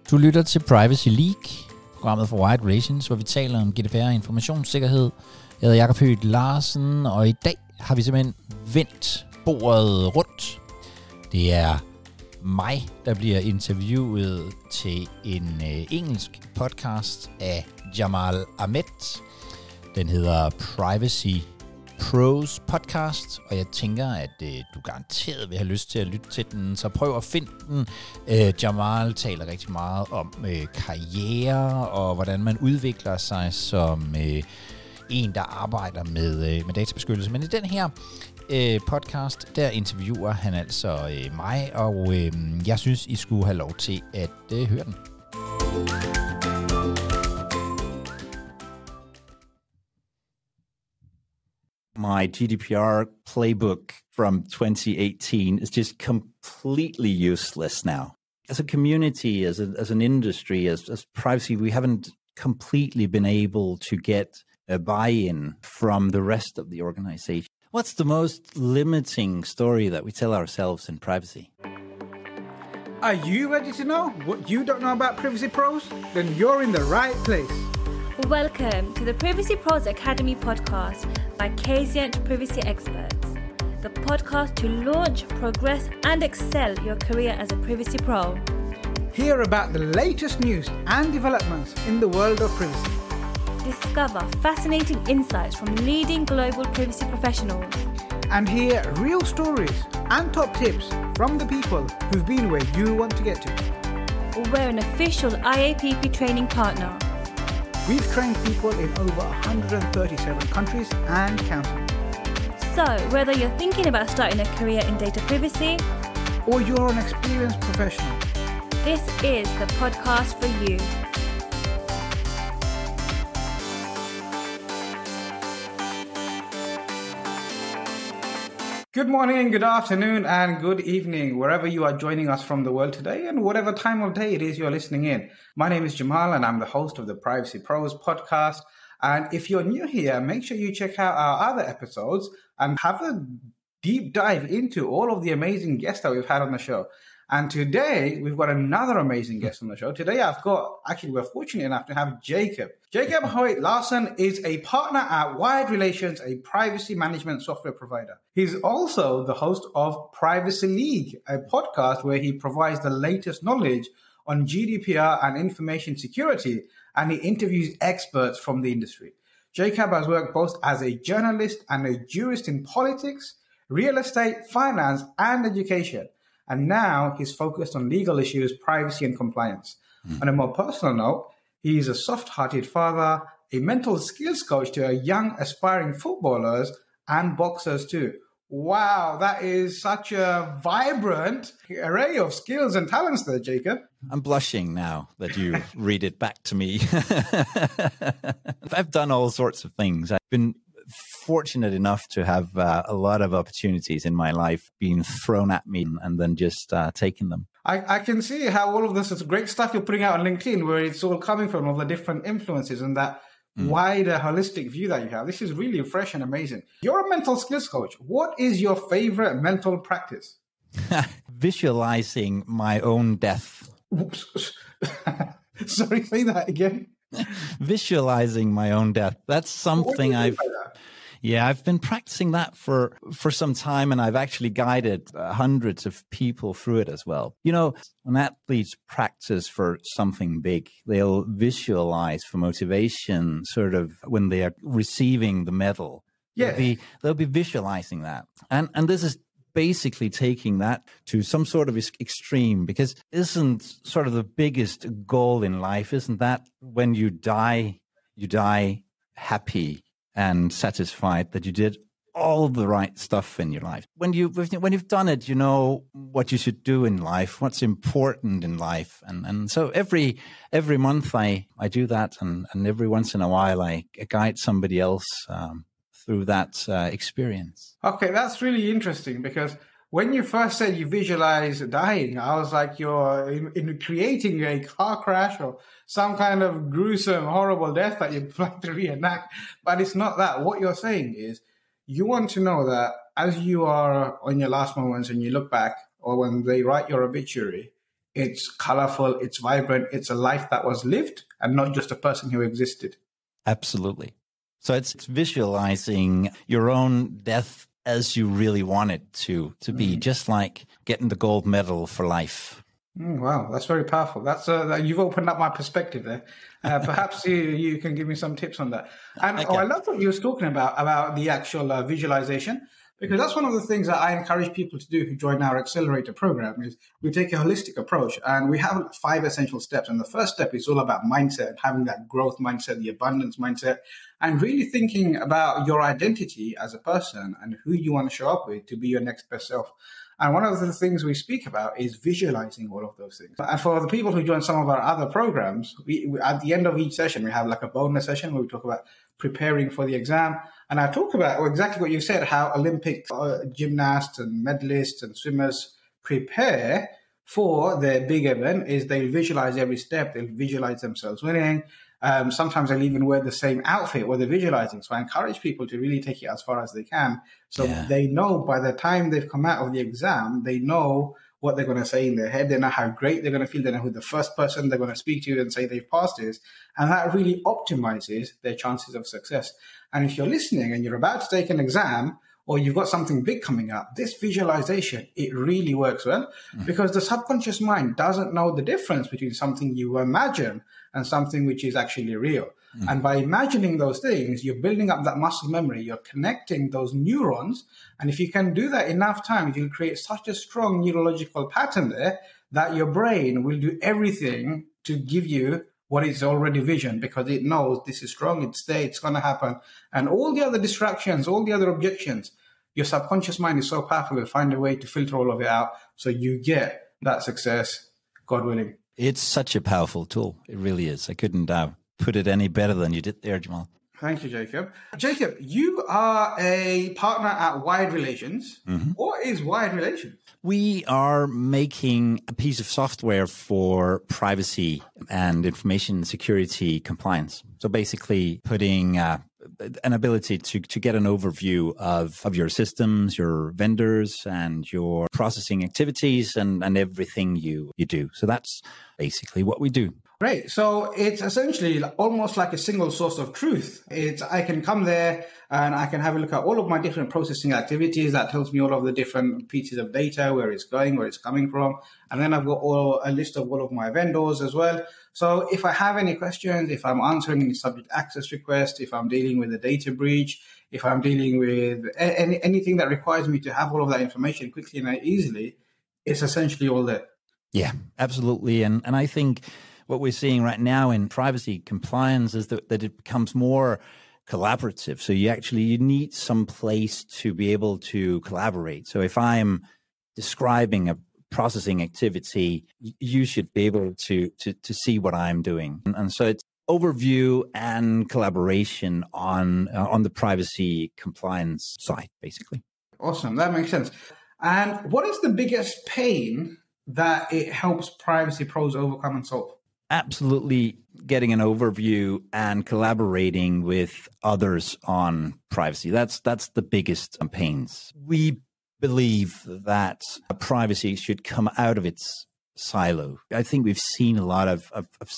Du lytter til Privacy League, programmet for Wired Relations, hvor vi taler om GDPR og informationssikkerhed. Jeg hedder Jakob Høgh Larsen, og i dag har vi simpelthen vendt bordet rundt. Det er mig, der bliver interviewet til en engelsk podcast af Jamal Ahmed. Den hedder Privacy Pros Podcast, og jeg tænker, at du garanteret vil have lyst til at lytte til den, så prøv at finde den. Jamal taler rigtig meget om karriere og hvordan man udvikler sig som en, der arbejder med databeskyttelse. Men i den her podcast, der interviewer han altså mig, og jeg synes, I skulle have lov til at høre den. My GDPR playbook from 2018 is just completely useless now. As a community, as an industry, as privacy, we haven't completely been able to get a buy-in from the rest of the organization. What's the most limiting story that we tell ourselves in privacy? Are you ready to know what you don't know about Privacy Pros? Then you're in the right place. Welcome to the Privacy Pros Academy podcast by Kazient Privacy Experts, the podcast to launch, progress, and excel your career as a privacy pro. Hear about the latest news and developments in the world of privacy. Discover fascinating insights from leading global privacy professionals. And hear real stories and top tips from the people who've been where you want to get to. We're an official IAPP training partner. We've trained people in over 137 countries and counting. So, whether you're thinking about starting a career in data privacy, or you're an experienced professional, this is the podcast for you. Good morning, good afternoon, and good evening, wherever you are joining us from the world today and whatever time of day it is you're listening in. My name is Jamal and I'm the host of the Privacy Pros podcast. And if you're new here, make sure you check out our other episodes and have a deep dive into all of the amazing guests that we've had on the show. And today, we've got another amazing guest on the show. Today, we're fortunate enough to have Jacob. Jacob Høgh Larsen is a partner at Wired Relations, a privacy management software provider. He's also the host of Privacy League, a podcast where he provides the latest knowledge on GDPR and information security, and he interviews experts from the industry. Jacob has worked both as a journalist and a jurist in politics, real estate, finance, and education. And now he's focused on legal issues, privacy, and compliance. On a more personal note, he's a soft-hearted father, a mental skills coach to young aspiring footballers and boxers too. Wow, that is such a vibrant array of skills and talents there, Jacob. I'm blushing now that you read it back to me. I've done all sorts of things. I've been fortunate enough to have a lot of opportunities in my life being thrown at me and then just taking them. I can see how all of this is great stuff you're putting out on LinkedIn, where it's all coming from, all the different influences and that wider holistic view that you have. This is really fresh and amazing. You're a mental skills coach. What is your favorite mental practice? Visualizing my own death. Oops. Sorry, say that again. Visualizing my own death. That's something I've been practicing that for some time, and I've actually guided hundreds of people through it as well. You know, when athletes practice for something big, they'll visualize for motivation sort of when they are receiving the medal. Yeah. They'll be visualizing that. And this is basically taking that to some sort of extreme, because isn't sort of the biggest goal in life, isn't that when you die happy and satisfied that you did all the right stuff in your life. When you've done it, you know what you should do in life, what's important in life. And so every month I do that, and every once in a while I guide somebody else through that experience. Okay, that's really interesting, because when you first said you visualize dying, I was like, you're in creating a car crash or some kind of gruesome, horrible death that you'd like to reenact. But it's not that. What you're saying is you want to know that as you are on your last moments and you look back, or when they write your obituary, it's colorful, it's vibrant, it's a life that was lived and not just a person who existed. Absolutely. So it's visualizing your own death as you really want it to be, just like getting the gold medal for life. Wow, that's very powerful. That's you've opened up my perspective there. Perhaps you can give me some tips on that. And I love what you were talking about the actual visualization, because that's one of the things that I encourage people to do who join our accelerator program. Is we take a holistic approach, and we have 5 essential steps. And the first step is all about mindset, having that growth mindset, the abundance mindset, and really thinking about your identity as a person and who you want to show up with to be your next best self. And one of the things we speak about is visualizing all of those things. And for the people who join some of our other programs, we at the end of each session, we have like a bonus session where we talk about preparing for the exam. And I talk about exactly what you said, how Olympic gymnasts and medalists and swimmers prepare for their big event is they'll visualize every step. They'll visualize themselves winning. Sometimes they'll even wear the same outfit while they're visualizing. So I encourage people to really take it as far as they can. So they know by the time they've come out of the exam, they know what they're going to say in their head. They know how great they're going to feel. They know who the first person they're going to speak to and say they've passed is. And that really optimizes their chances of success. And if you're listening and you're about to take an exam, or you've got something big coming up, this visualization, it really works well because the subconscious mind doesn't know the difference between something you imagine and something which is actually real. And by imagining those things, you're building up that muscle memory, you're connecting those neurons. And if you can do that enough times, you'll create such a strong neurological pattern there that your brain will do everything to give you what is already vision, because it knows this is strong, it's there, it's going to happen. And all the other distractions, all the other objections, your subconscious mind is so powerful, it'll find a way to filter all of it out so you get that success, God willing. It's such a powerful tool. It really is. I couldn't put it any better than you did there, Jamal. Thank you, Jacob. Jacob, you are a partner at Wired Relations. What is Wired Relations? We are making a piece of software for privacy and information security compliance. So basically putting an ability to get an overview of your systems, your vendors, and your processing activities and everything you do. So that's basically what we do. Great. So it's essentially almost like a single source of truth. I can come there and I can have a look at all of my different processing activities. That tells me all of the different pieces of data, where it's going, where it's coming from. And then I've got a list of all of my vendors as well. So if I have any questions, if I'm answering any subject access requests, if I'm dealing with a data breach, if I'm dealing with anything that requires me to have all of that information quickly and easily, it's essentially all there. Yeah, absolutely. And I think what we're seeing right now in privacy compliance is that it becomes more collaborative. So you need some place to be able to collaborate. So if I'm describing a processing activity, you should be able to see what I'm doing. And so it's overview and collaboration on the privacy compliance side, basically. Awesome. That makes sense. And what is the biggest pain that it helps privacy pros overcome and solve? Absolutely getting an overview and collaborating with others on privacy. That's the biggest pains. We believe that privacy should come out of its silo. I think we've seen a lot of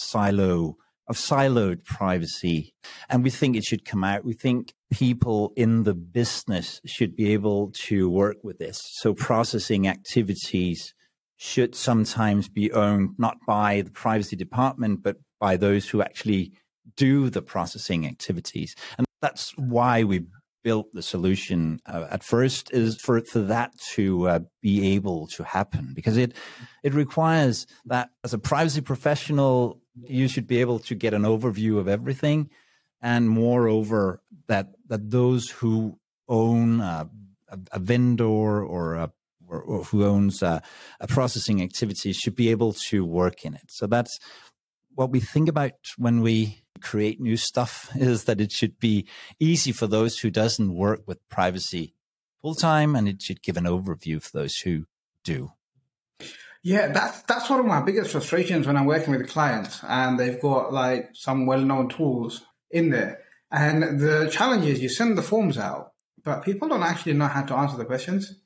siloed privacy, and we think it should come out. We think people in the business should be able to work with this. So processing activities should sometimes be owned not by the privacy department, but by those who actually do the processing activities. And that's why we built the solution at first, is for that to be able to happen, because it requires that as a privacy professional, you should be able to get an overview of everything. And moreover, that those who own a vendor or who owns a processing activity should be able to work in it. So that's what we think about when we create new stuff, is that it should be easy for those who doesn't work with privacy full time, and it should give an overview for those who do. Yeah, that's one of my biggest frustrations when I'm working with clients and they've got like some well-known tools in there. And the challenge is you send the forms out, but people don't actually know how to answer the questions.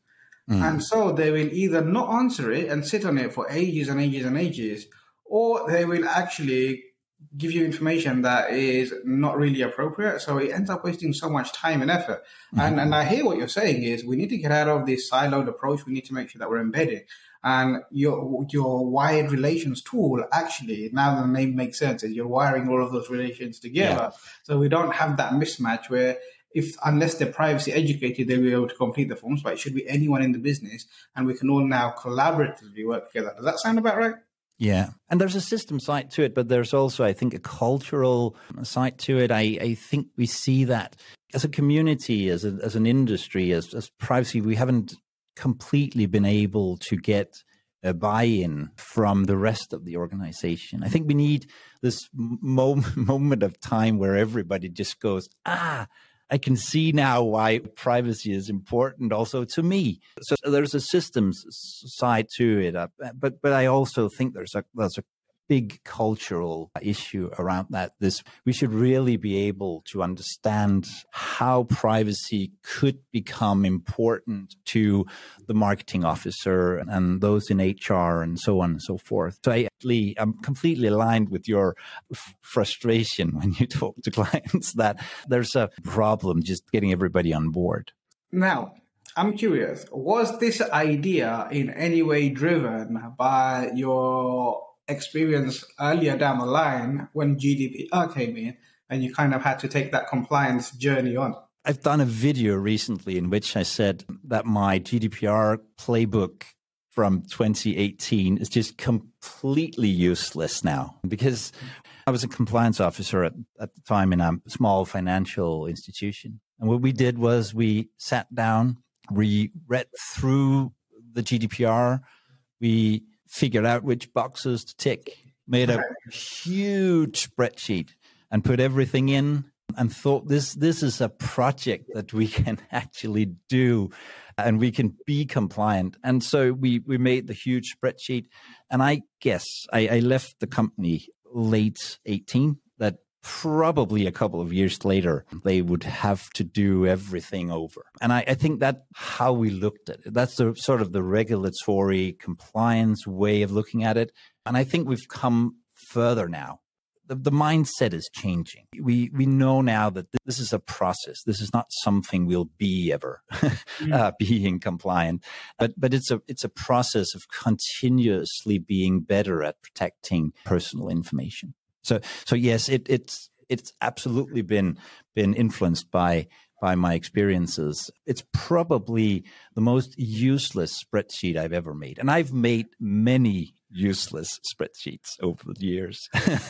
And so they will either not answer it and sit on it for ages and ages and ages, or they will actually give you information that is not really appropriate. So it ends up wasting so much time and effort. And I hear what you're saying is we need to get out of this siloed approach. We need to make sure that we're embedded. And your wired relations tool, actually, now the name makes sense, is you're wiring all of those relations together. Yeah. So we don't have that mismatch where unless they're privacy educated, they'll be able to complete the forms, but it should be anyone in the business. And we can all now collaboratively work together. Does that sound about right? Yeah. And there's a system side to it, but there's also, I think, a cultural side to it. I think we see that as a community, as an industry, as privacy, we haven't completely been able to get a buy-in from the rest of the organization. I think we need this moment of time where everybody just goes, I can see now why privacy is important also to me. So there's a systems side to it, but I also think there's a big cultural issue around that. We should really be able to understand how privacy could become important to the marketing officer and those in HR and so on and so forth. So I'm completely aligned with your frustration when you talk to clients that there's a problem just getting everybody on board. Now, I'm curious, was this idea in any way driven by your experience earlier down the line when GDPR came in and you kind of had to take that compliance journey on? I've done a video recently in which I said that my GDPR playbook from 2018 is just completely useless now, because I was a compliance officer at the time in a small financial institution. And what we did was we sat down, we read through the GDPR, we figured out which boxes to tick, made a huge spreadsheet and put everything in and thought this is a project that we can actually do and we can be compliant. And so we made the huge spreadsheet. And I guess I left the company late 18, that probably a couple of years later, they would have to do everything over. And I think that's how we looked at it. That's the sort of the regulatory compliance way of looking at it. And I think we've come further now. The mindset is changing. We know now that this is a process. This is not something we'll be ever being compliant, but it's a process of continuously being better at protecting personal information. So yes, it's absolutely been influenced by my experiences. It's probably the most useless spreadsheet I've ever made, and I've made many useless spreadsheets over the years.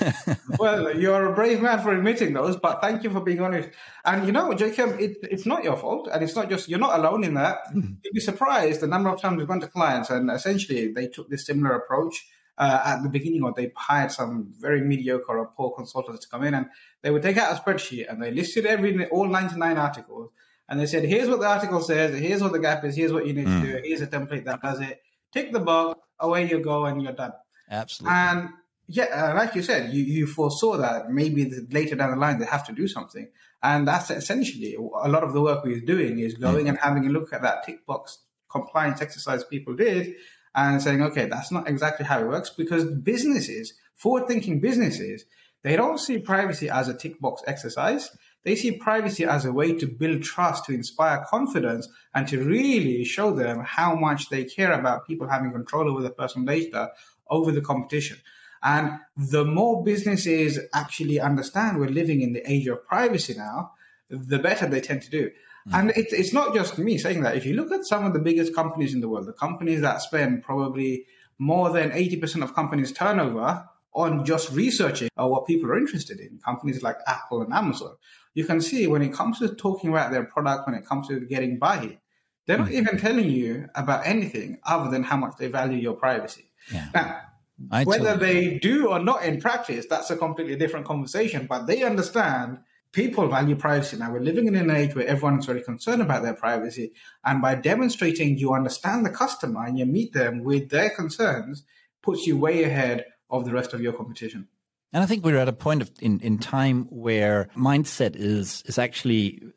Well, you're a brave man for admitting those, but thank you for being honest. And Jacob, it's not your fault, and it's not just, you're not alone in that. You'd be surprised the number of times we've gone to clients and essentially they took this similar approach. At the beginning, or they hired some very mediocre or poor consultants to come in, and they would take out a spreadsheet and they listed all 99 articles, and they said, here's what the article says, here's what the gap is, here's what you need to do, here's a template that does it, tick the box, away you go, and you're done. Absolutely. And like you said, you foresaw that maybe later down the line they have to do something, and that's essentially a lot of the work we're doing is going and having a look at that tick box compliance exercise people did, and saying, okay, that's not exactly how it works, because businesses, forward-thinking businesses, they don't see privacy as a tick box exercise. They see privacy as a way to build trust, to inspire confidence, and to really show them how much they care about people having control over their personal data over the competition. And the more businesses actually understand we're living in the age of privacy now, the better they tend to do. And it's not just me saying that. If you look at some of the biggest companies in the world, the companies that spend probably more than 80% of companies' turnover on just researching what people are interested in, companies like Apple and Amazon, you can see when it comes to talking about their product, when it comes to getting buy-in, they're not even telling you about anything other than how much they value your privacy. Yeah. Now, whether they do or not in practice, that's a completely different conversation, but they understand people value privacy. Now, we're living in an age where everyone is very concerned about their privacy. And by demonstrating you understand the customer and you meet them with their concerns, puts you way ahead of the rest of your competition. And I think we're at a point in time where mindset is actually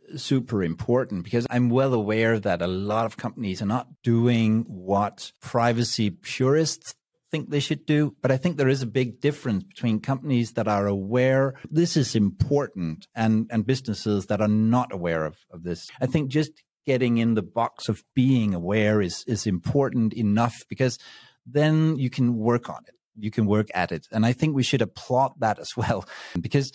super important because I'm well aware that a lot of companies are not doing what privacy purists think they should do. But I think there is a big difference between companies that are aware this is important and businesses that are not aware of this. I think just getting in the box of being aware is important enough because then you can work on it. You can work at it. And I think we should applaud that as well because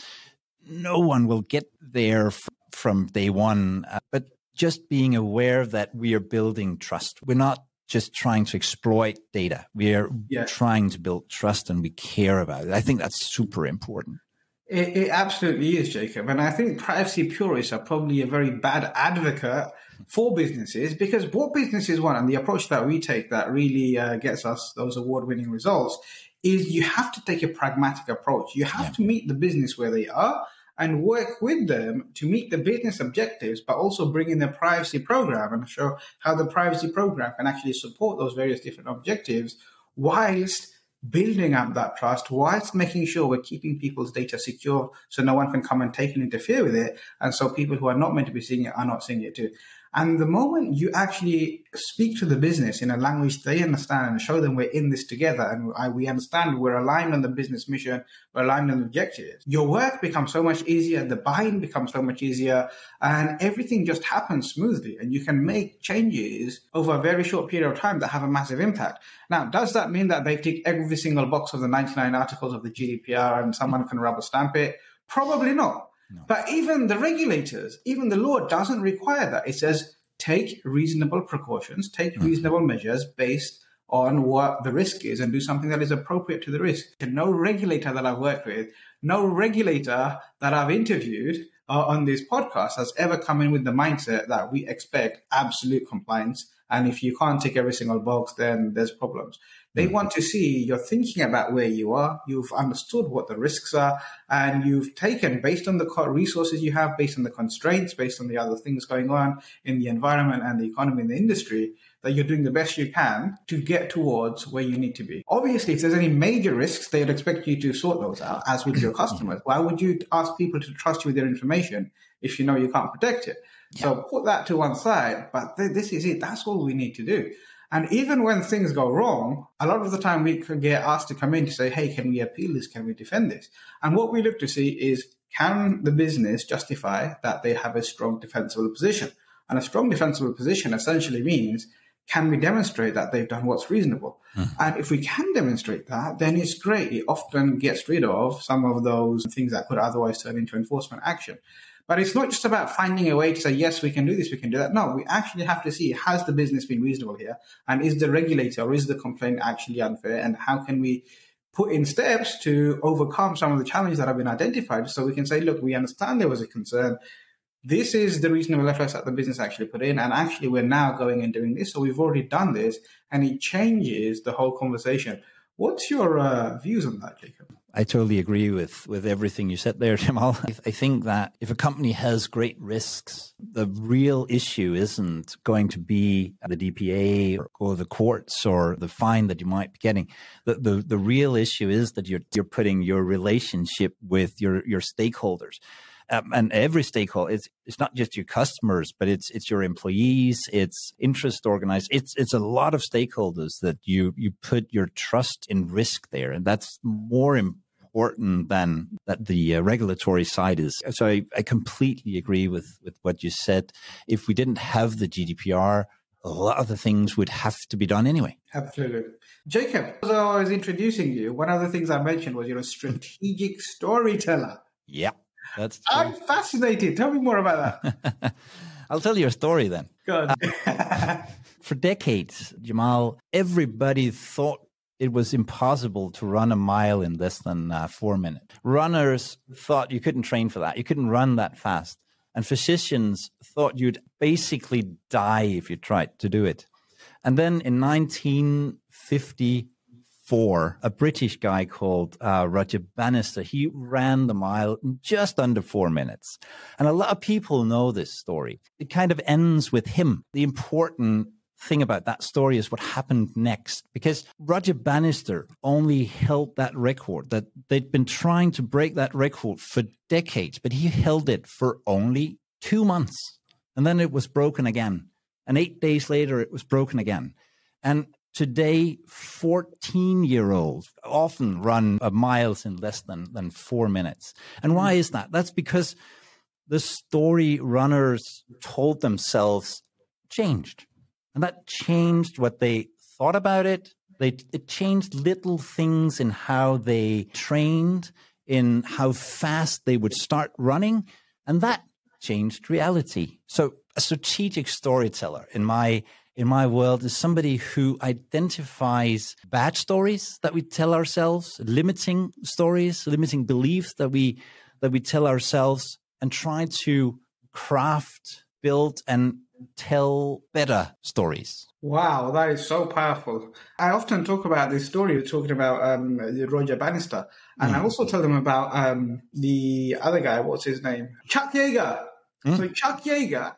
no one will get there from day one. But just being aware that we are building trust. We're not just trying to exploit data. We are trying to build trust and we care about it. I think that's super important. It absolutely is, Jacob. And I think privacy purists are probably a very bad advocate for businesses because what businesses want and the approach that we take that really gets us those award-winning results is you have to take a pragmatic approach. You have to meet the business where they are and work with them to meet the business objectives, but also bring in the privacy program and show how the privacy program can actually support those various different objectives whilst building up that trust, whilst making sure we're keeping people's data secure so no one can come and take and interfere with it. And so people who are not meant to be seeing it are not seeing it too. And the moment you actually speak to the business in a language they understand and show them we're in this together and we understand we're aligned on the business mission, we're aligned on the objectives, your work becomes so much easier, the buy-in becomes so much easier, and everything just happens smoothly. And you can make changes over a very short period of time that have a massive impact. Now, does that mean that they've ticked every single box of the 99 articles of the GDPR and someone can rubber stamp it? Probably not. No. But even the regulators, even the law doesn't require that. It says take reasonable precautions, take reasonable measures based on what the risk is and do something that is appropriate to the risk. And no regulator that I've worked with, no regulator that I've interviewed on this podcast has ever come in with the mindset that we expect absolute compliance. And if you can't tick every single box, then there's problems. They want to see you're thinking about where you are, you've understood what the risks are, and you've taken, based on the resources you have, based on the constraints, based on the other things going on in the environment and the economy and the industry, that you're doing the best you can to get towards where you need to be. Obviously, if there's any major risks, they would expect you to sort those out, as with your customers. Why would you ask people to trust you with their information if you know you can't protect it? Yeah. So put that to one side, but this is it. That's all we need to do. And even when things go wrong, a lot of the time we can get asked to come in to say, hey, can we appeal this? Can we defend this? And what we look to see is, can the business justify that they have a strong defensible position? And a strong defensible position essentially means, can we demonstrate that they've done what's reasonable? And if we can demonstrate that, then it's great. It often gets rid of some of those things that could otherwise turn into enforcement action. But it's not just about finding a way to say, yes, we can do this, we can do that. No, we actually have to see, has the business been reasonable here? And is the regulator or is the complaint actually unfair? And how can we put in steps to overcome some of the challenges that have been identified so we can say, look, we understand there was a concern. This is the reasonable efforts that the business actually put in. And actually, we're now going and doing this. So we've already done this. And it changes the whole conversation. What's your views on that, Jacob? I totally agree with everything you said there, Jamal. I think that if a company has great risks, the real issue isn't going to be the DPA or the courts or the fine that you might be getting. The real issue is that you're putting your relationship with your stakeholders. And every stakeholder, it's not just your customers, but it's your employees, it's interest organized. It's a lot of stakeholders that you put your trust in risk there. And that's more important than that the regulatory side is. So I completely agree with what you said. If we didn't have the GDPR, a lot of the things would have to be done anyway. Absolutely. Jacob, as I was introducing you, one of the things I mentioned was you're a strategic storyteller. Yeah. That's true. I'm fascinated. Tell me more about that. I'll tell you a story then. Good. For decades, Jamal, everybody thought it was impossible to run a mile in less than 4 minutes. Runners thought you couldn't train for that. You couldn't run that fast. And physicians thought you'd basically die if you tried to do it. And then in 1954, a British guy called Roger Bannister, he ran the mile in just under 4 minutes. And a lot of people know this story. It kind of ends with him. The important thing about that story is what happened next, because Roger Bannister only held that record, that they'd been trying to break that record for decades, but he held it for only 2 months. And then it was broken again. And 8 days later, it was broken again. And today, 14-year-olds often run miles in less than 4 minutes. And why is that? That's because the story runners told themselves changed. And that changed what they thought about it. It changed little things in how they trained, in how fast they would start running. And that changed reality. So a strategic storyteller in my world is somebody who identifies bad stories that we tell ourselves, limiting stories, limiting beliefs that we tell ourselves, and try to craft, build, and tell better stories. Wow, that is so powerful. I often talk about this story, you're talking about Roger Bannister, and I also tell them about the other guy, what's his name? Chuck Yeager. So Chuck Yeager,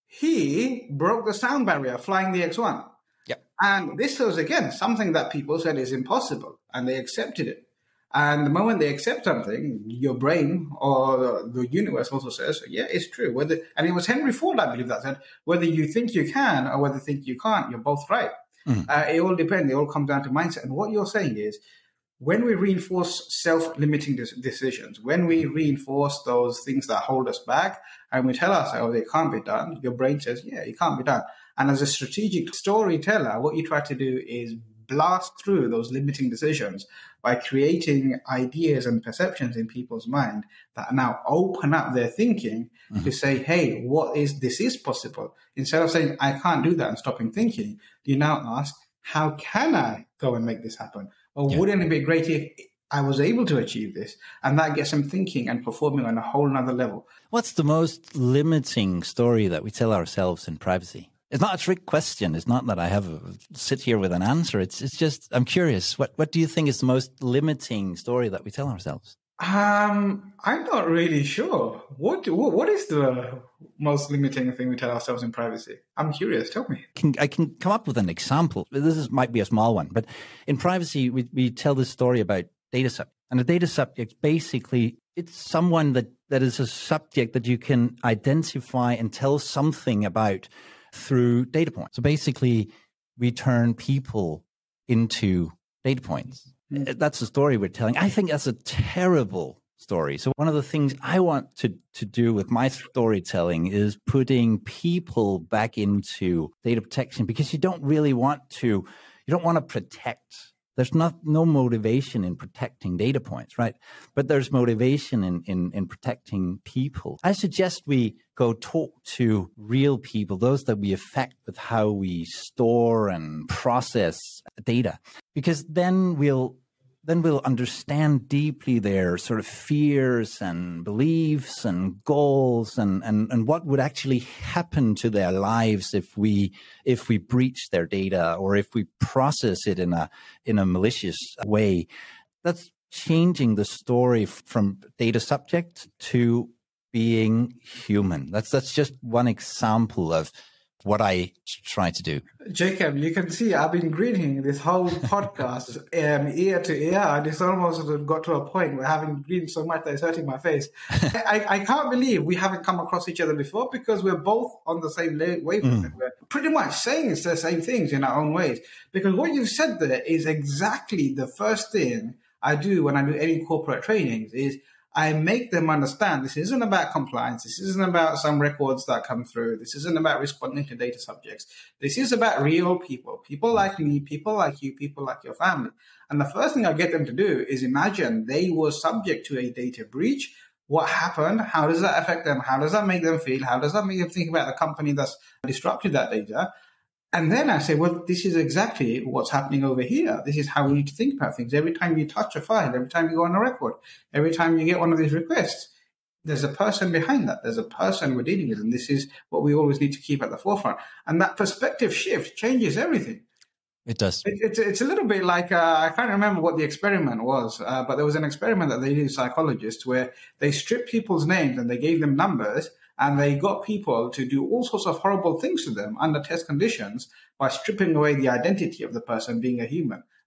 he broke the sound barrier flying the X-1. Yep. And this was, again, something that people said is impossible, and they accepted it. And the moment they accept something, your brain or the universe also says, yeah, it's true. And it was Henry Ford, I believe, that said, whether you think you can or whether you think you can't, you're both right. It all depends. It all comes down to mindset. And what you're saying is, when we reinforce self-limiting decisions, when we reinforce those things that hold us back, and we tell ourselves it can't be done, your brain says, yeah, it can't be done. And as a strategic storyteller, what you try to do is blast through those limiting decisions by creating ideas and perceptions in people's mind that now open up their thinking to say, hey, this is possible. Instead of saying, I can't do that and stopping thinking, you now ask, how can I go and make this happen? Or wouldn't it be great if I was able to achieve this? And that gets them thinking and performing on a whole nother level. What's the most limiting story that we tell ourselves in privacy? It's not a trick question. It's not that I sit here with an answer. It's just, I'm curious. What do you think is the most limiting story that we tell ourselves? I'm not really sure. What is the most limiting thing we tell ourselves in privacy? I'm curious. Tell me. I can come up with an example. Might be a small one, but in privacy, we tell this story about data subject. And a data subject, basically, it's someone that is a subject that you can identify and tell something about through data points. So basically, we turn people into data points. That's the story we're telling. I think that's a terrible story. So one of the things I want to do with my storytelling is putting people back into data protection, because you don't want to protect. There's no motivation in protecting data points, right? But there's motivation in protecting people. I suggest we go talk to real people, those that we affect with how we store and process data, because then we'll understand deeply their sort of fears and beliefs and goals and what would actually happen to their lives if we breach their data or if we process it in a malicious way. That's changing the story from data subject to being human. That's just one example of what I try to do. Jacob, you can see I've been greeting this whole podcast ear to ear, and it's almost got to a point where having greeted so much that it's hurting my face. I can't believe we haven't come across each other before, because we're both on the same wavelength. We're pretty much saying the same things in our own ways, because what you've said there is exactly the first thing I do when I do any corporate trainings is I make them understand this isn't about compliance. This isn't about some records that come through. This isn't about responding to data subjects. This is about real people like me, people like you, people like your family. And the first thing I get them to do is imagine they were subject to a data breach. What happened? How does that affect them? How does that make them feel? How does that make them think about the company that's disrupted that data? And then I say, well, this is exactly what's happening over here. This is how we need to think about things. Every time you touch a file, every time you go on a record, every time you get one of these requests, there's a person behind that. There's a person we're dealing with. And this is what we always need to keep at the forefront. And that perspective shift changes everything. It does. It's a little bit like, I can't remember what the experiment was, but there was an experiment that they did with psychologists where they stripped people's names and they gave them numbers. And they got people to do all sorts of horrible things to them under test conditions by stripping away the identity of the person being a human.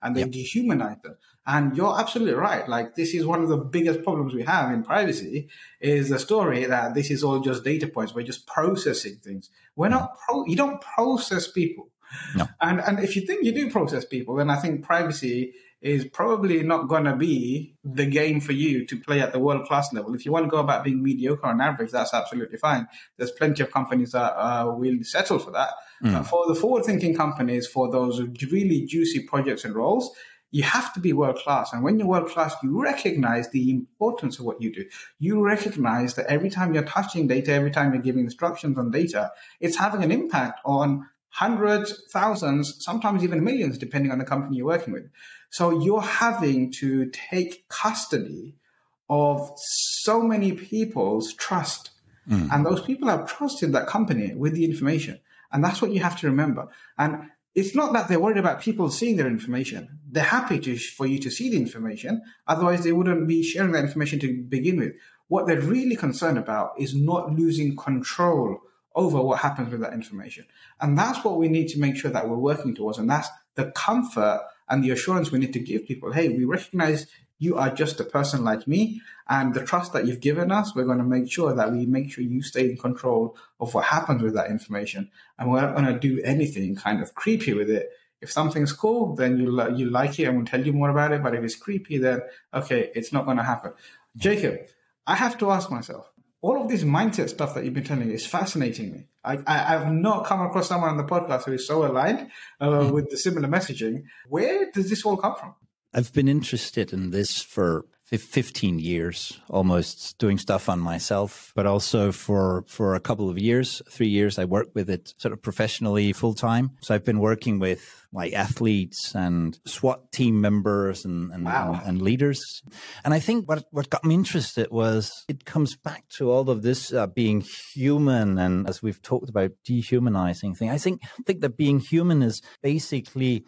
and they dehumanize them. And you're absolutely right. Like, this is one of the biggest problems we have in privacy, is the story that this is all just data points. We're just processing things. We're not, you don't process people. No. And if you think you do process people, then I think privacy is probably not going to be the game for you to play at the world-class level. If you want to go about being mediocre on average, that's absolutely fine. There's plenty of companies that will settle for that. But for the forward-thinking companies, for those really juicy projects and roles, you have to be world-class. And when you're world-class, you recognize the importance of what you do. You recognize that every time you're touching data, every time you're giving instructions on data, it's having an impact on hundreds, thousands, sometimes even millions, depending on the company you're working with. So you're having to take custody of so many people's trust. And those people have trusted that company with the information. And that's what you have to remember. And it's not that they're worried about people seeing their information. They're happy for you to see the information. Otherwise, they wouldn't be sharing that information to begin with. What they're really concerned about is not losing control over what happens with that information. And that's what we need to make sure that we're working towards. And that's the comfort and the assurance we need to give people. Hey, we recognize you are just a person like me, and the trust that you've given us, we're going to make sure that we make sure you stay in control of what happens with that information. And we're not going to do anything kind of creepy with it. If something's cool, then you like it and we'll tell you more about it. But if it's creepy, then okay, it's not going to happen. Jacob, I have to ask myself, all of this mindset stuff that you've been telling me is fascinating me. I've not come across someone on the podcast who is so aligned with the similar messaging. Where does this all come from? I've been interested in this for 15 years, almost, doing stuff on myself, but also for a couple of years, 3 years, I worked with it sort of professionally full time. So I've been working with like athletes and SWAT team members and leaders. And I think what got me interested was it comes back to all of this being human. And as we've talked about, dehumanizing thing, I think that being human is basically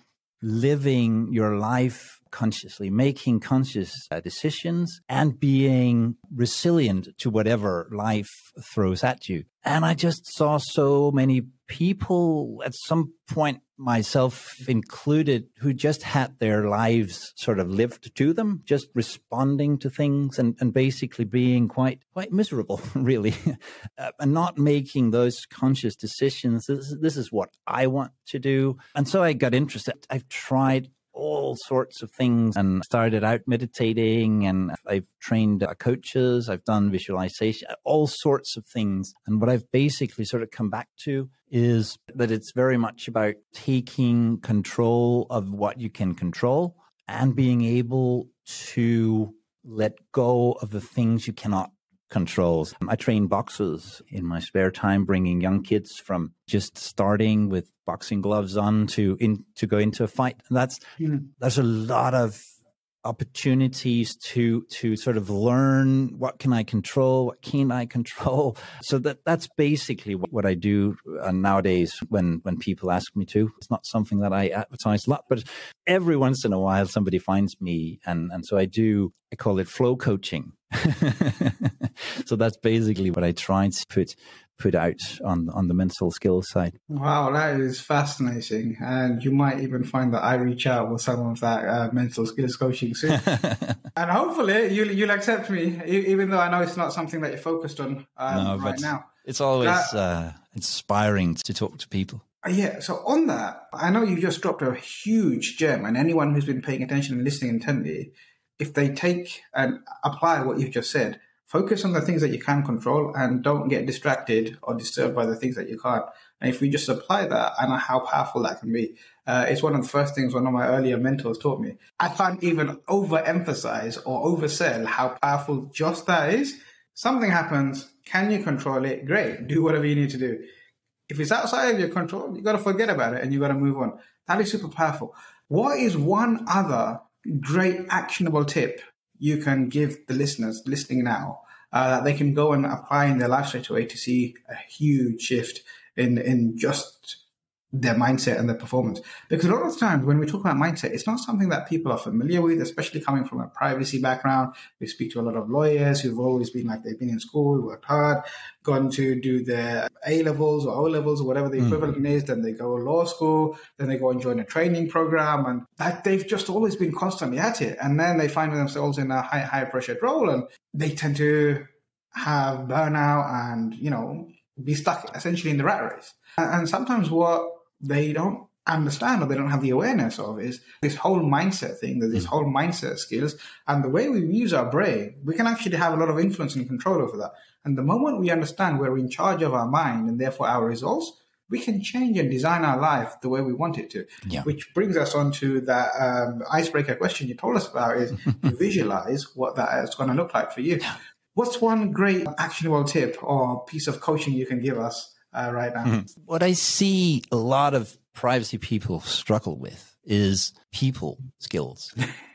living your life consciously, making conscious decisions and being resilient to whatever life throws at you. And I just saw so many people at some point, myself included, who just had their lives sort of lived to them, just responding to things and basically being quite miserable, really, and not making those conscious decisions. This is what I want to do. And so I got interested. I've tried all sorts of things and started out meditating, and I've trained coaches, I've done visualization, all sorts of things. And what I've basically sort of come back to is that it's very much about taking control of what you can control and being able to let go of the things you cannot control. I train boxers in my spare time, bringing young kids from just starting with boxing gloves on to go into a fight. And there's a lot of opportunities to sort of learn what can I control, what can't I control. So that's basically what I do nowadays when people ask me to. It's not something that I advertise a lot, but every once in a while somebody finds me, and so I call it flow coaching. So that's basically what I try to put out on the mental skills side. Wow, that is fascinating. And you might even find that I reach out with some of that mental skills coaching soon. And hopefully you'll accept me, even though I know it's not something that you're focused on right now. It's always inspiring to talk to people. Yeah, so on that, I know you just dropped a huge gem, and anyone who's been paying attention and listening intently, if they take and apply what you've just said, focus on the things that you can control and don't get distracted or disturbed by the things that you can't. And if we just apply that, I know how powerful that can be. It's one of the first things one of my earlier mentors taught me. I can't even overemphasize or oversell how powerful just that is. Something happens. Can you control it? Great. Do whatever you need to do. If it's outside of your control, you got to forget about it and you got to move on. That is super powerful. What is one other great actionable tip you can give the listeners listening now that they can go and apply in their life straight away to see a huge shift in just their mindset and their performance. Because a lot of times when we talk about mindset, it's not something that people are familiar with, especially coming from a privacy background. We speak to a lot of lawyers who've always been like they've been in school, worked hard, gone to do their A-levels or O-levels or whatever the equivalent is. Then they go to law school, then they go and join a training program, and that they've just always been constantly at it. And then they find themselves in a high pressured role, and they tend to have burnout and, be stuck essentially in the rat race. And sometimes what they don't understand or they don't have the awareness of is this whole mindset thing, that this whole mindset skills and the way we use our brain, we can actually have a lot of influence and control over that. And the moment we understand we're in charge of our mind and therefore our results, we can change and design our life the way we want it to. Yeah. Which brings us on to that icebreaker question you told us about is you visualize what that is going to look like for you. Yeah. What's one great actionable tip or piece of coaching you can give us right now? What I see a lot of privacy people struggle with is people skills,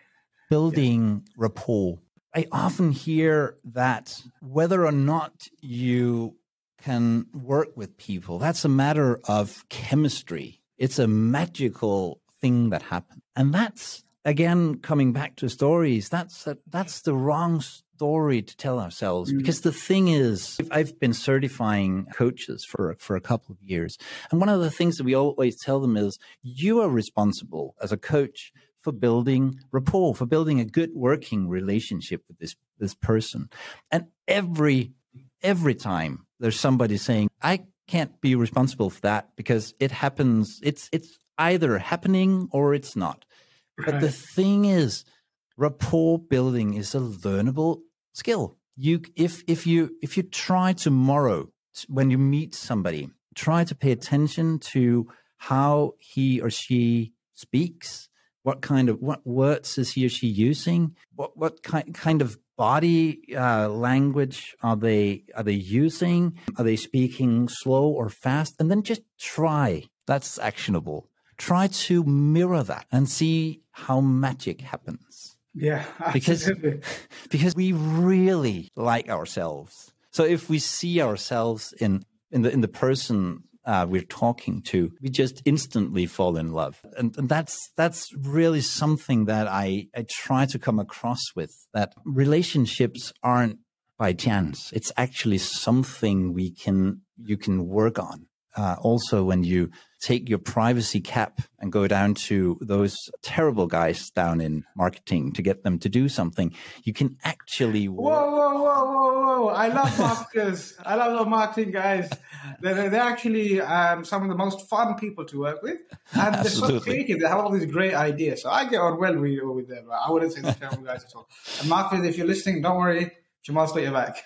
building rapport. I often hear that whether or not you can work with people, that's a matter of chemistry. It's a magical thing that happens. And that's, again, coming back to stories, that's the wrong story to tell ourselves, because the thing is, I've been certifying coaches for a couple of years, and one of the things that we always tell them is you are responsible as a coach for building rapport, for building a good working relationship with this person. And every time there's somebody saying, I can't be responsible for that because it happens, it's either happening or it's not. Right. But the thing is, rapport building is a learnable skill. If you try tomorrow when you meet somebody, try to pay attention to how he or she speaks, what words is he or she using, what kind of body language are they using, are they speaking slow or fast, and then just try. That's actionable. Try to mirror that and see how magic happens. Yeah, absolutely. Because we really like ourselves. So if we see ourselves in the person we're talking to, we just instantly fall in love. And that's really something that I try to come across with, that relationships aren't by chance. It's actually something you can work on. Also, when you take your privacy cap and go down to those terrible guys down in marketing to get them to do something, you can actually work. Whoa. I love marketers. I love the marketing guys. They're actually some of the most fun people to work with. And they're so creative. They have all these great ideas. So I get on well with them. I wouldn't say they're terrible guys at all. And marketers, if you're listening, don't worry. Jamal's got your back.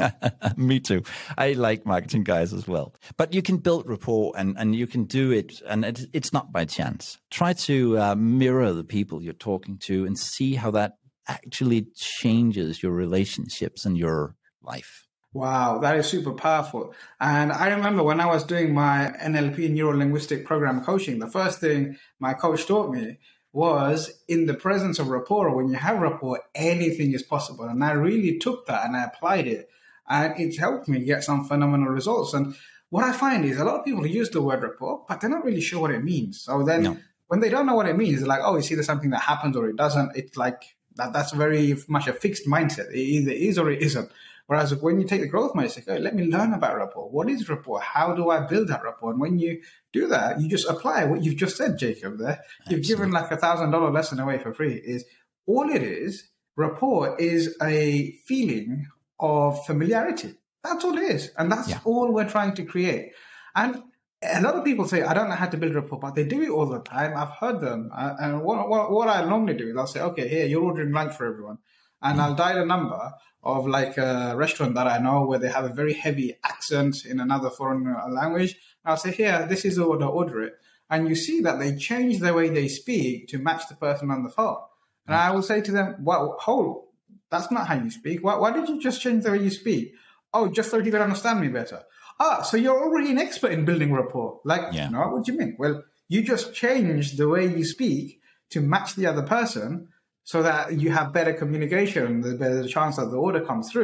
Me too. I like marketing guys as well. But you can build rapport and you can do it. And it's not by chance. Try to mirror the people you're talking to and see how that actually changes your relationships and your life. Wow, that is super powerful. And I remember when I was doing my NLP, Neuro-Linguistic Program coaching, the first thing my coach taught me was in the presence of rapport, when you have rapport, anything is possible. And I really took that and I applied it. And it's helped me get some phenomenal results. And what I find is a lot of people use the word rapport, but they're not really sure what it means. So then when they don't know what it means, they're like, oh, it's either something that happens or it doesn't. It's like that's very much a fixed mindset. It either is or it isn't. Whereas when you take the growth mindset, okay, let me learn about rapport. What is rapport? How do I build that rapport? And when you do that, you just apply what you've just said, Jacob, there. You've given like $1,000 lesson away for free. Is all it is. Rapport is a feeling of familiarity. That's all it is. And that's all we're trying to create. And a lot of people say, I don't know how to build rapport, but they do it all the time. I've heard them. And what I normally do is I'll say, okay, here, you're ordering lunch for everyone. And I'll dial a number of like a restaurant that I know where they have a very heavy accent in another foreign language. I'll say, here, this is the order, order it. And you see that they change the way they speak to match the person on the phone. And I will say to them, well, hold, that's not how you speak. Why did you just change the way you speak? Oh, just so you could understand me better. So you're already an expert in building rapport. No, what do you mean? Well, you just changed the way you speak to match the other person so that you have better communication, the better chance that the order comes through.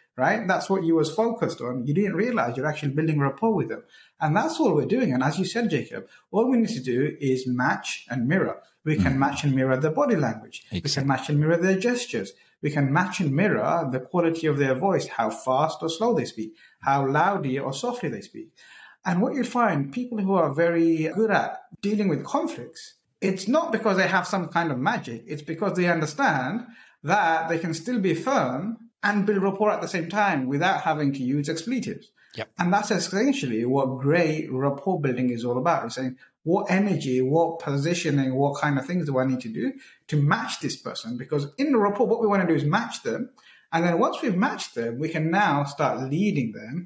right? That's what you was focused on. You didn't realize you're actually building rapport with them. And that's all we're doing. And as you said, Jacob, all we need to do is match and mirror. We can match and mirror their body language. Exactly. We can match and mirror their gestures. We can match and mirror the quality of their voice, how fast or slow they speak, how loudly or softly they speak. And what you'll find, people who are very good at dealing with conflicts, it's not because they have some kind of magic. It's because they understand that they can still be firm and build rapport at the same time without having to use expletives. Yep. And that's essentially what great rapport building is all about. It's saying, what energy, what positioning, what kind of things do I need to do to match this person? Because in the rapport, what we want to do is match them. And then once we've matched them, we can now start leading them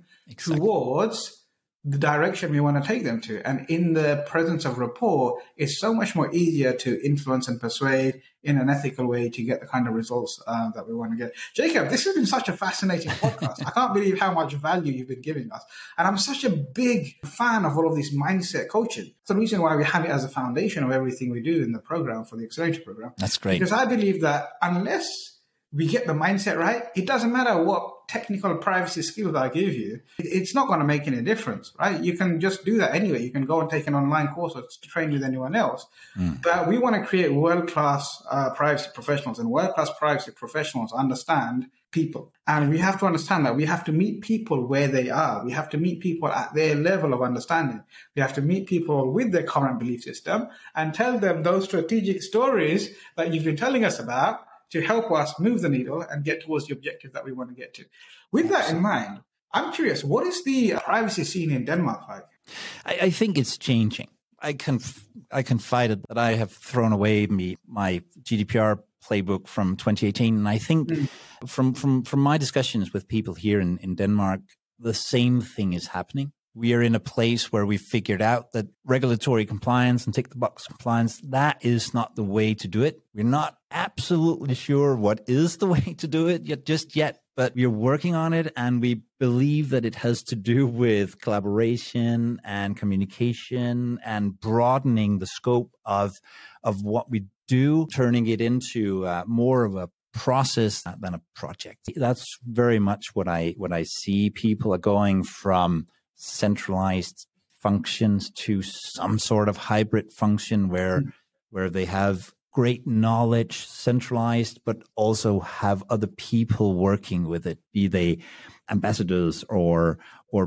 towards the direction we want to take them to. And in the presence of rapport, it's so much more easier to influence and persuade in an ethical way to get the kind of results that we want to get. Jacob, this has been such a fascinating podcast. I can't believe how much value you've been giving us. And I'm such a big fan of all of this mindset coaching. It's the reason why we have it as a foundation of everything we do in the program for the Accelerator program. That's great. Because I believe that unless we get the mindset right, it doesn't matter what technical privacy skills I give you, it's not going to make any difference, right? You can just do that anyway. You can go and take an online course or to train with anyone else. But we want to create world-class privacy professionals, and world-class privacy professionals understand people. And we have to understand that we have to meet people where they are. We have to meet people at their level of understanding. We have to meet people with their current belief system and tell them those strategic stories that you've been telling us about to help us move the needle and get towards the objective that we want to get to. With that in mind, I'm curious, what is the privacy scene in Denmark like? I think it's changing. I confided that I have thrown away my GDPR playbook from 2018. And I think from my discussions with people here in Denmark, the same thing is happening. We are in a place where we've figured out that regulatory compliance and tick-the-box compliance, that is not the way to do it. We're not absolutely sure what is the way to do it yet, but we're working on it, and we believe that it has to do with collaboration and communication and broadening the scope of what we do, turning it into more of a process than a project. That's very much what I see. People are going from centralized functions to some sort of hybrid function where they have great knowledge centralized, but also have other people working with it, be they ambassadors or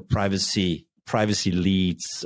privacy leads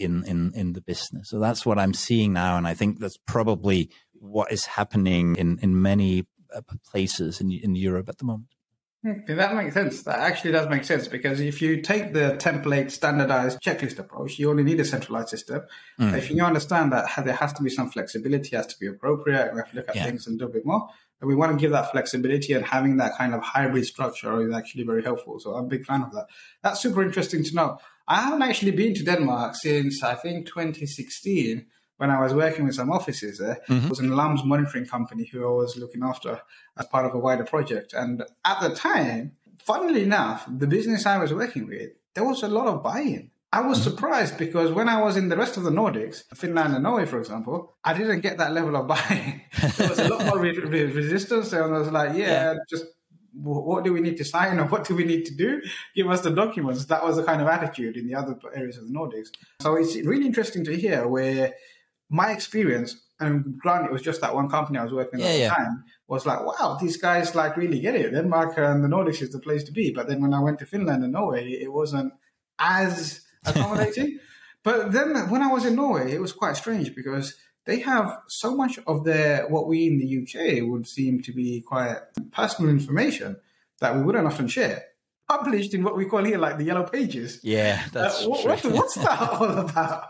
in the business. So that's what I'm seeing now, and I think that's probably what is happening in many places in Europe at the moment. Okay, that makes sense. That actually does make sense, because if you take the template standardized checklist approach, you only need a centralized system. If you understand that there has to be some flexibility, has to be appropriate, we have to look at things a little bit more. But we want to give that flexibility, and having that kind of hybrid structure is actually very helpful. So I'm a big fan of that. That's super interesting to know. I haven't actually been to Denmark since, I think, 2016. When I was working with some offices there. It was an alarms monitoring company who I was looking after as part of a wider project. And at the time, funnily enough, the business I was working with, there was a lot of buy-in. I was surprised, because when I was in the rest of the Nordics, Finland and Norway, for example, I didn't get that level of buy-in. There was a lot more resistance. And I was like, just what do we need to sign, or what do we need to do? Give us the documents. That was the kind of attitude in the other areas of the Nordics. So it's really interesting to hear where my experience, and granted, it was just that one company I was working at the time, was like, wow, these guys really get it. Denmark and the Nordics is the place to be. But then when I went to Finland and Norway, it wasn't as accommodating. But then when I was in Norway, it was quite strange, because they have so much of what we in the UK would seem to be quite personal information that we wouldn't often share, published in what we call here the Yellow Pages. Yeah, that's true. What's that all about?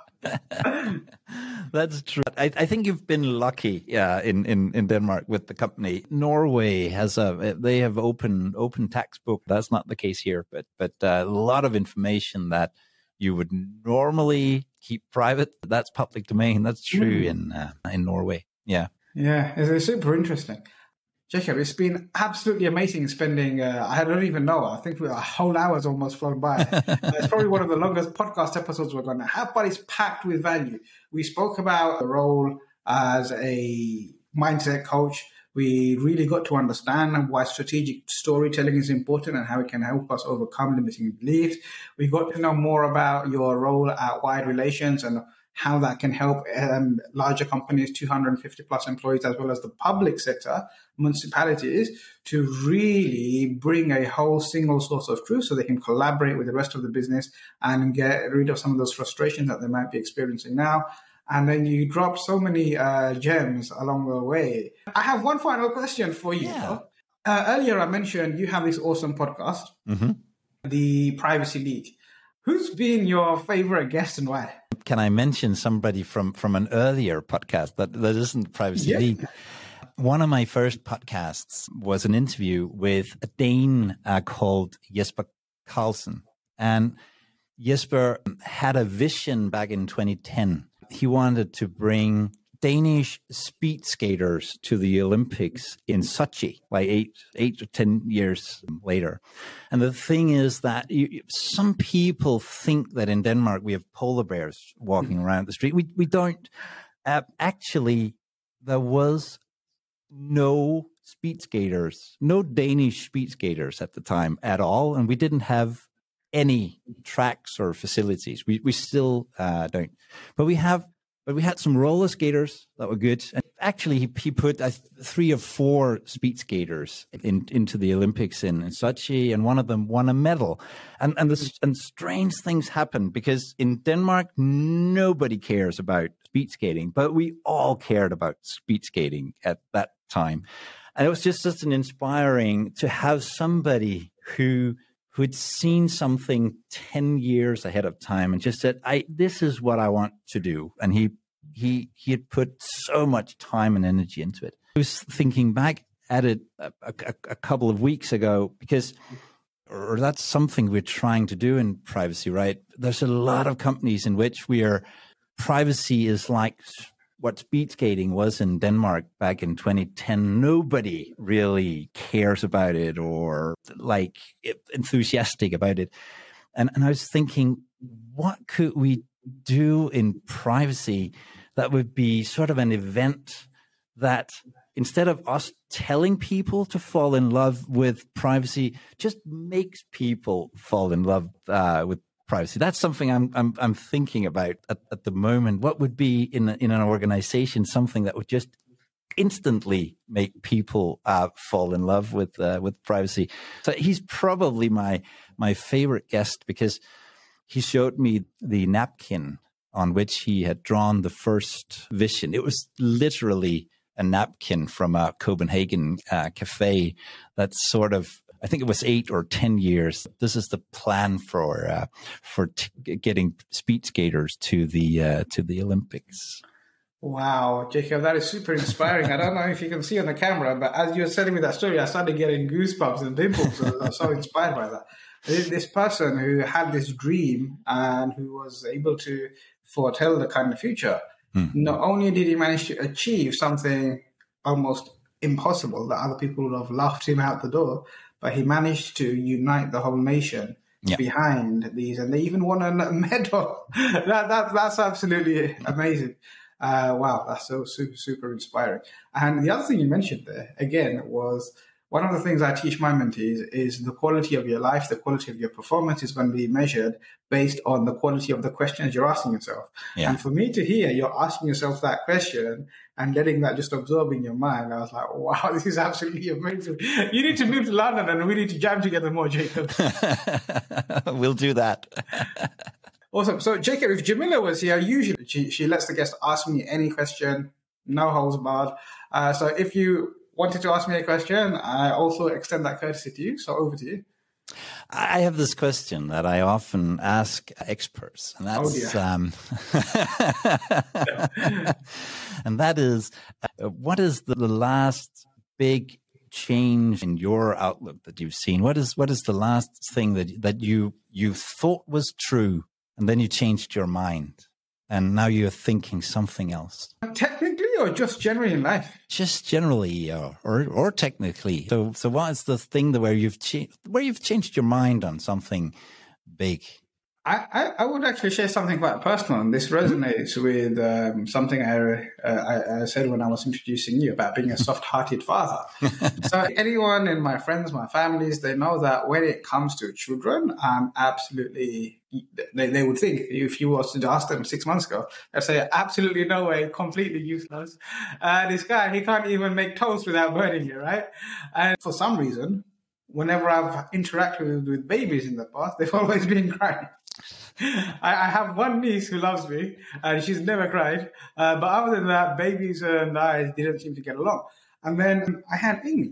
That's true. I think you've been lucky, in Denmark with the company. Norway they have open textbook. That's not the case here, but a lot of information that you would normally keep private, that's public domain. That's true in Norway. Yeah, it's super interesting. Jacob, it's been absolutely amazing spending, I don't even know, I think a whole hour's almost flown by. It's probably one of the longest podcast episodes we're going to have, but it's packed with value. We spoke about the role as a mindset coach. We really got to understand why strategic storytelling is important and how it can help us overcome limiting beliefs. We got to know more about your role at Wide Relations and how that can help larger companies, 250 plus employees, as well as the public sector, municipalities, to really bring a whole single source of truth so they can collaborate with the rest of the business and get rid of some of those frustrations that they might be experiencing now. And then you dropped so many gems along the way. I have one final question for you. Yeah. Earlier, I mentioned you have this awesome podcast, the Privacy League. Who's been your favorite guest and why? Can I mention somebody from an earlier podcast that isn't Privacy League? One of my first podcasts was an interview with a Dane called Jesper Carlsen. And Jesper had a vision back in 2010. He wanted to bring Danish speed skaters to the Olympics in Sochi, like eight or 10 years later. And the thing is that some people think that in Denmark we have polar bears walking around the street. We don't. Actually, there was no speed skaters, no Danish speed skaters at the time at all. And we didn't have any tracks or facilities. We still don't. But we had some roller skaters that were good. And actually, he put 3 or 4 speed skaters into the Olympics in Sochi, and one of them won a medal. And strange things happened because in Denmark, nobody cares about speed skating, but we all cared about speed skating at that time. And it was just such an inspiring to have somebody who'd seen something 10 years ahead of time and just said, this is what I want to do. And he had put so much time and energy into it. I was thinking back at it a couple of weeks ago or that's something we're trying to do in privacy, right? There's a lot of companies in which privacy is like what speed skating was in Denmark back in 2010. Nobody really cares about it or enthusiastic about it. And I was thinking, what could we do in privacy that would be sort of an event that instead of us telling people to fall in love with privacy, just makes people fall in love with privacy. That's something I'm thinking about at the moment. What would be in an organization something that would just instantly make people fall in love with privacy? So he's probably my favorite guest because he showed me the napkin on which he had drawn the first vision. It was literally a napkin from a Copenhagen cafe that's sort of, I think it was 8 or 10 years. This is the plan for getting speed skaters to the Olympics. Wow, Jacob, that is super inspiring. I don't know if you can see on the camera, but as you were telling me that story, I started getting goosebumps and dimples. I was so inspired by that. This person who had this dream and who was able to foretell the kind of future, not only did he manage to achieve something almost impossible that other people would have laughed him out the door, but he managed to unite the whole nation behind these, and they even won a medal. That's absolutely amazing. Wow, that's so super, super inspiring. And the other thing you mentioned there, again, was one of the things I teach my mentees is the quality of your life, the quality of your performance is going to be measured based on the quality of the questions you're asking yourself. Yeah. And for me to hear you're asking yourself that question and letting that just absorb in your mind, I was like, wow, this is absolutely amazing. You need to move to London and we need to jam together more, Jacob. We'll do that. Awesome. So, Jacob, if Jamila was here, usually she lets the guest ask me any question, no holds barred. So if you wanted to ask me a question, I also extend that courtesy to you. So over to you. I have this question that I often ask experts, and that's, and that is, what is the last big change in your outlook that you've seen? What is the last thing that you thought was true, and then you changed your mind, and now you're thinking something else? Technically, or just generally in life? Just generally, or technically. So what is the thing where you've changed your mind on something big? I would actually share something quite personal, and this resonates with something I said when I was introducing you about being a soft-hearted father. So anyone in my friends, my families, they know that when it comes to children, I'm absolutely, they would think, if you was to ask them 6 months ago, they'd say, absolutely no way, completely useless. This guy, he can't even make toast without burning you, right? And for some reason, whenever I've interacted with babies in the past, they've always been crying. I have one niece who loves me, and she's never cried. But other than that, babies and I didn't seem to get along. And then I had Amy.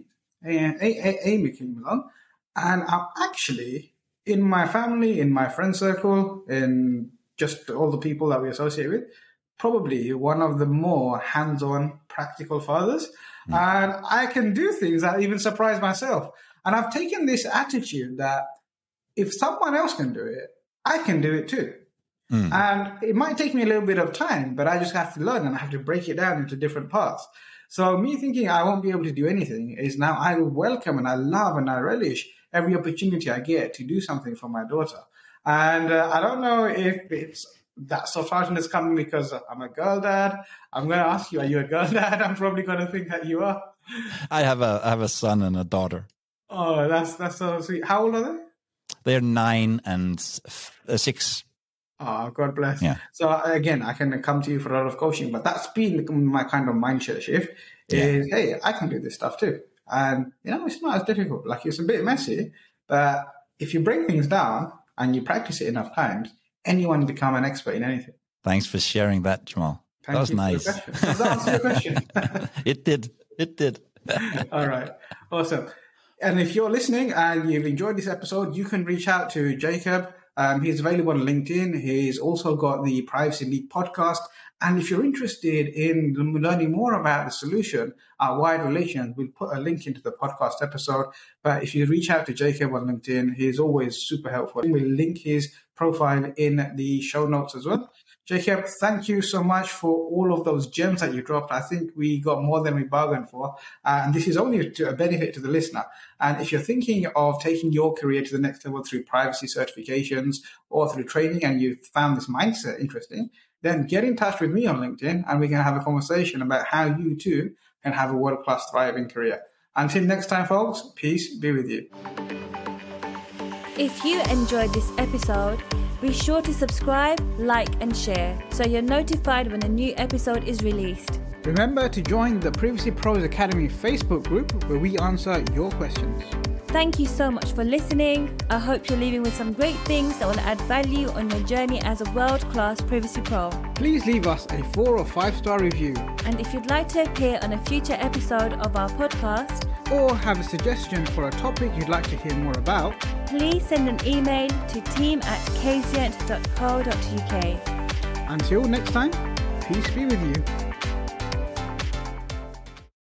Amy came along, and I'm actually, in my family, in my friend circle, in just all the people that we associate with, probably one of the more hands-on, practical fathers. And I can do things that even surprise myself. And I've taken this attitude that if someone else can do it, I can do it too. And it might take me a little bit of time, but I just have to learn and I have to break it down into different parts. So me thinking I won't be able to do anything is now I welcome and I love and I relish every opportunity I get to do something for my daughter. And I don't know if it's that soft-heartedness coming because I'm a girl dad. I'm going to ask you, are you a girl dad? I'm probably going to think that you are. I have a son and a daughter. Oh, that's so sweet. How old are they? They're 9 and 6. Oh, God bless. Yeah. So again, I can come to you for a lot of coaching, but that's been my kind of mindset shift is, hey, I can do this stuff too. And, it's not as difficult. Like, it's a bit messy, but if you break things down and you practice it enough times, anyone can become an expert in anything. Thanks for sharing that, Jamal. That was nice. Does that answer your question? It did. All right. Awesome. And if you're listening and you've enjoyed this episode, you can reach out to Jacob. He's available on LinkedIn. He's also got the Privacy Leak podcast. And if you're interested in learning more about the solution, Wired Relations, we'll put a link into the podcast episode. But if you reach out to Jacob on LinkedIn, he's always super helpful. We'll link his profile in the show notes as well. Jacob, thank you so much for all of those gems that you dropped. I think we got more than we bargained for. And this is only a benefit to the listener. And if you're thinking of taking your career to the next level through privacy certifications or through training and you found this mindset interesting, then get in touch with me on LinkedIn and we can have a conversation about how you too can have a world-class thriving career. Until next time, folks, peace be with you. If you enjoyed this episode, be sure to subscribe, like and share so you're notified when a new episode is released. Remember to join the Privacy Pros Academy Facebook group where we answer your questions. Thank you so much for listening. I hope you're leaving with some great things that will add value on your journey as a world-class Privacy Pro. Please leave us a 4 or 5-star review. And if you'd like to appear on a future episode of our podcast, or have a suggestion for a topic you'd like to hear more about, please send an email to team@kzient.co.uk. Until next time, peace be with you.